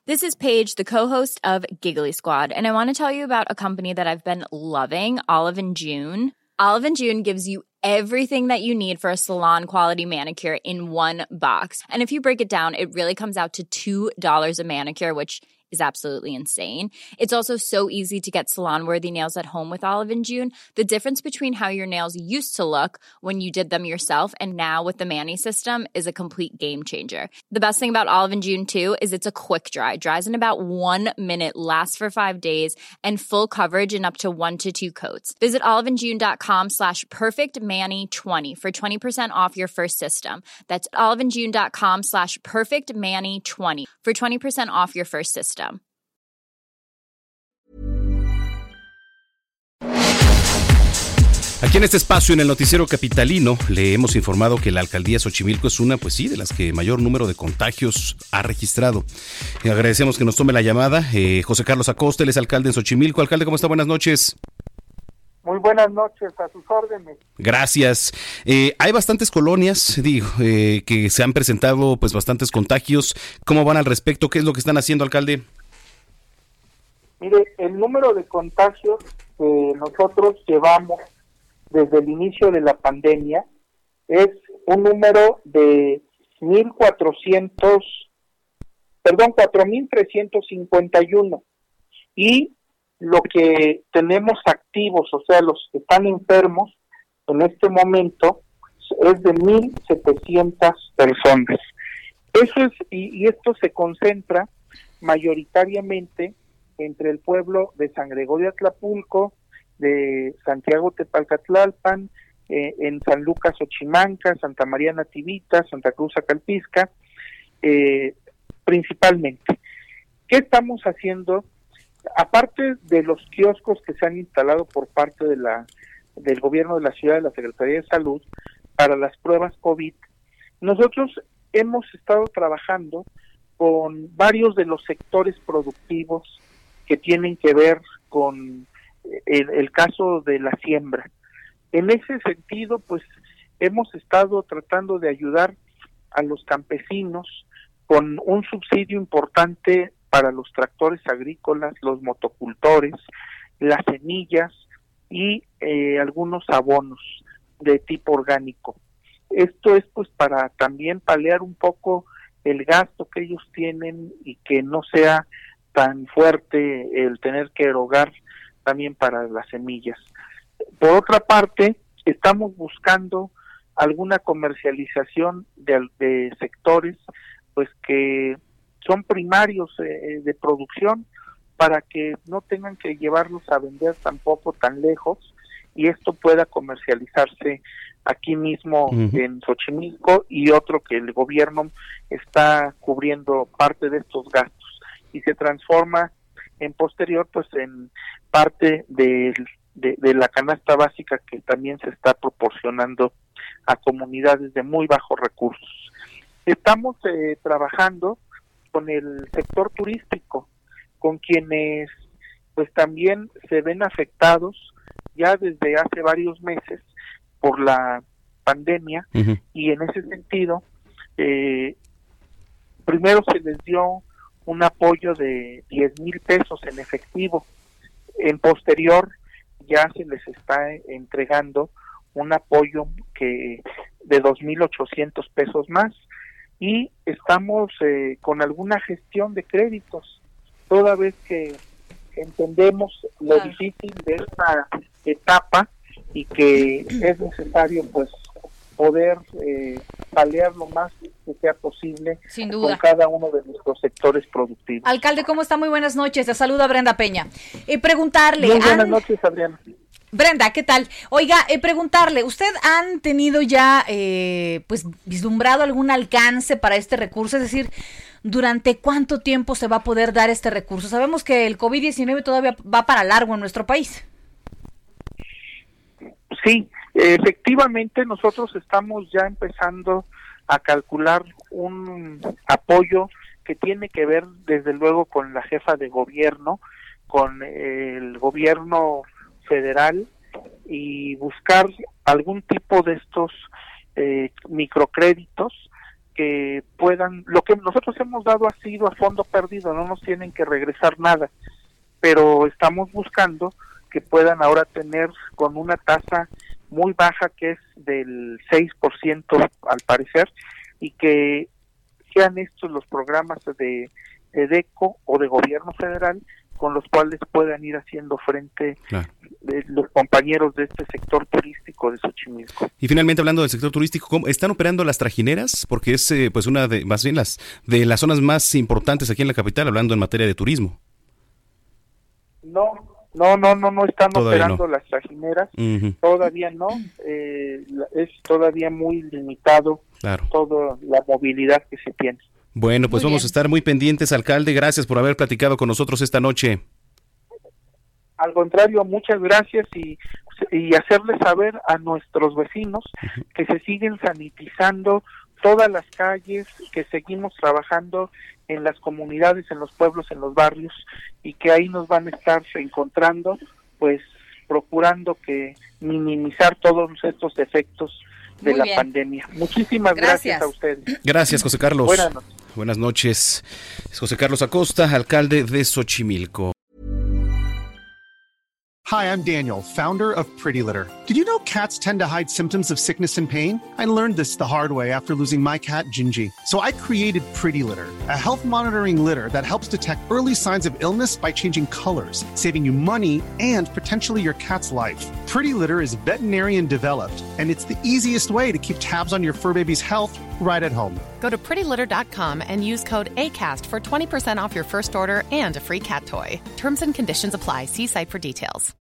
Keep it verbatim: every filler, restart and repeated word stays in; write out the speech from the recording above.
This is Paige, the co-host of Giggly Squad, and I want to tell you about a company that I've been loving, Olive and June. Olive and June gives you everything that you need for a salon-quality manicure in one box. And if you break it down, it really comes out to two dollars a manicure, which is absolutely insane. It's also so easy to get salon-worthy nails at home with Olive and June. The difference between how your nails used to look when you did them yourself and now with the Mani system is a complete game changer. The best thing about Olive and June, too, is it's a quick dry. Dries in about one minute, lasts for five days, and full coverage in up to one to two coats. Visit oliveandjune.com slash perfectmani20 for twenty percent off your first system. That's oliveandjune.com slash perfectmani20 for twenty percent off your first system. Aquí en este espacio, en el noticiero capitalino, le hemos informado que la alcaldía Xochimilco es una, pues sí, de las que mayor número de contagios ha registrado. Eh, agradecemos que nos tome la llamada. Eh, José Carlos Acosta, él es alcalde en Xochimilco. Alcalde, ¿cómo está? Buenas noches. Muy buenas noches, a sus órdenes. Gracias. Eh, hay bastantes colonias, digo, eh, que se han presentado pues bastantes contagios. ¿Cómo van al respecto? ¿Qué es lo que están haciendo, alcalde? Mire, el número de contagios que nosotros llevamos desde el inicio de la pandemia es un número de mil cuatrocientos, perdón, cuatro mil trescientos cincuenta y uno, y lo que tenemos activos, o sea, los que están enfermos en este momento es de mil setecientas personas. Eso es, y, y esto se concentra mayoritariamente entre el pueblo de San Gregorio Atlapulco, de Santiago Tepalcatlalpan, eh, en San Lucas Ochimanca, Santa María Nativita, Santa Cruz Acalpisca, eh, principalmente. ¿Qué estamos haciendo? Aparte de los kioscos que se han instalado por parte de la del gobierno de la ciudad, de la Secretaría de Salud, para las pruebas COVID, nosotros hemos estado trabajando con varios de los sectores productivos que tienen que ver con el, el caso de la siembra. En ese sentido, pues hemos estado tratando de ayudar a los campesinos con un subsidio importante para los tractores agrícolas, los motocultores, las semillas y eh, algunos abonos de tipo orgánico. Esto es pues para también paliar un poco el gasto que ellos tienen y que no sea tan fuerte el tener que erogar también para las semillas. Por otra parte, estamos buscando alguna comercialización de, de sectores pues que son primarios eh, de producción, para que no tengan que llevarlos a vender tampoco tan lejos y esto pueda comercializarse aquí mismo uh-huh. en Xochimilco, y otro que el gobierno está cubriendo parte de estos gastos y se transforma en posterior pues en parte de, de, de la canasta básica que también se está proporcionando a comunidades de muy bajos recursos. Estamos eh, trabajando con el sector turístico, con quienes pues también se ven afectados ya desde hace varios meses por la pandemia, uh-huh. y en ese sentido eh, primero se les dio un apoyo de diez mil pesos en efectivo. En posterior ya se les está entregando un apoyo que de dos mil ochocientos pesos más, y estamos eh, con alguna gestión de créditos, toda vez que entendemos lo difícil de esta etapa y que es necesario pues poder eh, paliar lo más que sea posible Sin duda. con cada uno de nuestros sectores productivos. Alcalde, ¿cómo está? Muy buenas noches. Te saluda Brenda Peña. Eh, preguntarle... Muy buenas han... noches, Adriana. Brenda, ¿qué tal? Oiga, eh, preguntarle, ¿usted han tenido ya, eh, pues, vislumbrado algún alcance para este recurso? Es decir, ¿durante cuánto tiempo se va a poder dar este recurso? Sabemos que el COVID diecinueve todavía va para largo en nuestro país. Sí, efectivamente nosotros estamos ya empezando a calcular un apoyo que tiene que ver desde luego con la jefa de gobierno, con el gobierno federal, y buscar algún tipo de estos eh, microcréditos que puedan, lo que nosotros hemos dado ha sido a fondo perdido, no nos tienen que regresar nada, pero estamos buscando que puedan ahora tener con una tasa muy baja que es del seis por ciento al parecer, y que sean estos los programas de EDECO o de gobierno federal con los cuales puedan ir haciendo frente claro. de los compañeros de este sector turístico de Xochimilco. Y finalmente, hablando del sector turístico, ¿cómo están operando las trajineras? Porque es eh, pues una de, más bien las de las zonas más importantes aquí en la capital, hablando en materia de turismo. No, no, no, no, no están todavía operando no. las trajineras, uh-huh. todavía no, eh, es todavía muy limitado claro. toda la movilidad que se tiene. Bueno, pues muy vamos bien. a estar muy pendientes, alcalde. Gracias por haber platicado con nosotros esta noche. Al contrario, muchas gracias y, y hacerles saber a nuestros vecinos uh-huh. que se siguen sanitizando todas las calles, que seguimos trabajando en las comunidades, en los pueblos, en los barrios, y que ahí nos van a estar encontrando, pues procurando que minimizar todos estos efectos de Muy la bien. pandemia. Muchísimas gracias. gracias a ustedes. Gracias, José Carlos. Buenas noches. Buenas noches. Es José Carlos Acosta, alcalde de Xochimilco. Hi, I'm Daniel, founder of Pretty Litter. Did you know cats tend to hide symptoms of sickness and pain? I learned this the hard way after losing my cat, Gingy. So I created Pretty Litter, a health monitoring litter that helps detect early signs of illness by changing colors, saving you money and potentially your cat's life. Pretty Litter is veterinarian developed, and it's the easiest way to keep tabs on your fur baby's health right at home. Go to pretty litter dot com and use code ACAST for twenty percent off your first order and a free cat toy. Terms and conditions apply. See site for details.